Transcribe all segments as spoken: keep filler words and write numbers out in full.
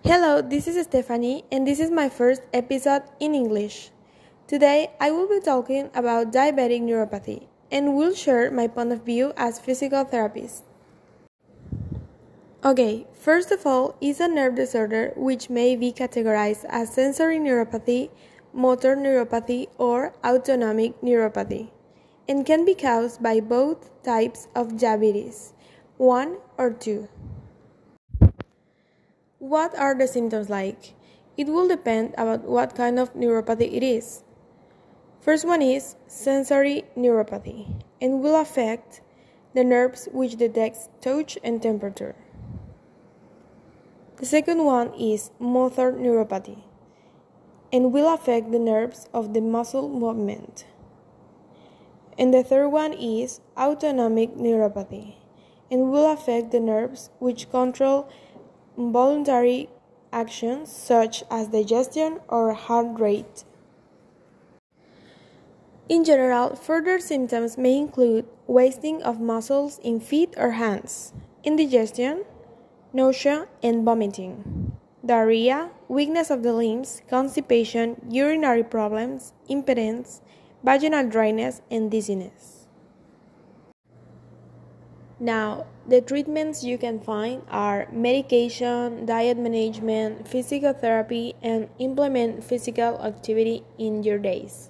Hello, this is Stephanie, and this is my first episode in English. Today, I will be talking about diabetic neuropathy and will share my point of view as physical therapist. Okay, first of all, is a nerve disorder which may be categorized as sensory neuropathy, motor neuropathy, or autonomic neuropathy, and can be caused by both types of diabetes, one or two. What are the symptoms like? It will depend about what kind of neuropathy it is. First one is sensory neuropathy and will affect the nerves which detects touch and temperature. The second one is motor neuropathy and will affect the nerves of the muscle movement. And the third one is autonomic neuropathy and will affect the nerves which control voluntary actions such as digestion or heart rate. In general, further symptoms may include wasting of muscles in feet or hands, indigestion, nausea and vomiting, diarrhea, weakness of the limbs, constipation, urinary problems, impotence, vaginal dryness, and dizziness. Now, the treatments you can find are medication, diet management, physical therapy, and implement physical activity in your days.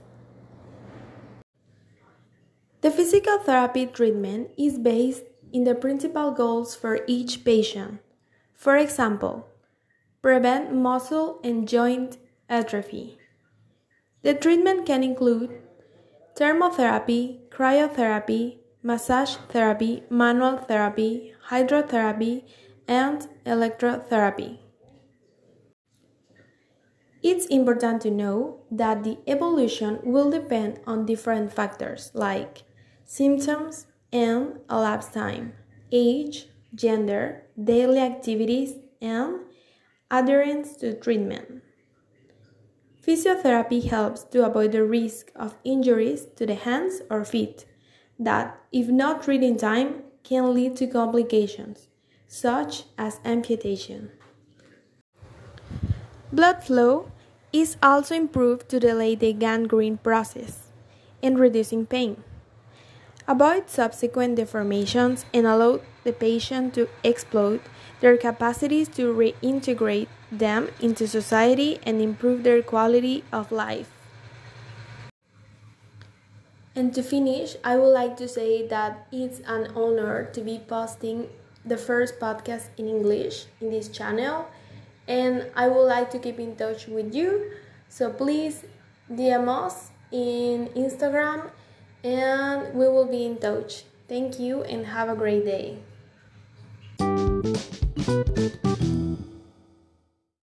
The physical therapy treatment is based in the principal goals for each patient. For example, prevent muscle and joint atrophy. The treatment can include thermotherapy, cryotherapy, massage therapy, manual therapy, hydrotherapy, and electrotherapy. It's important to know that the evolution will depend on different factors like symptoms and elapsed time, age, gender, daily activities, and adherence to treatment. Physiotherapy helps to avoid the risk of injuries to the hands or feet that, if not treated in time, can lead to complications, such as amputation. Blood flow is also improved to delay the gangrene process and reducing pain. Avoid subsequent deformations and allow the patient to exploit their capacities to reintegrate them into society and improve their quality of life. And to finish, I would like to say that it's an honor to be posting the first podcast in English in this channel, and I would like to keep in touch with you. So please D M us in Instagram and we will be in touch. Thank you and have a great day.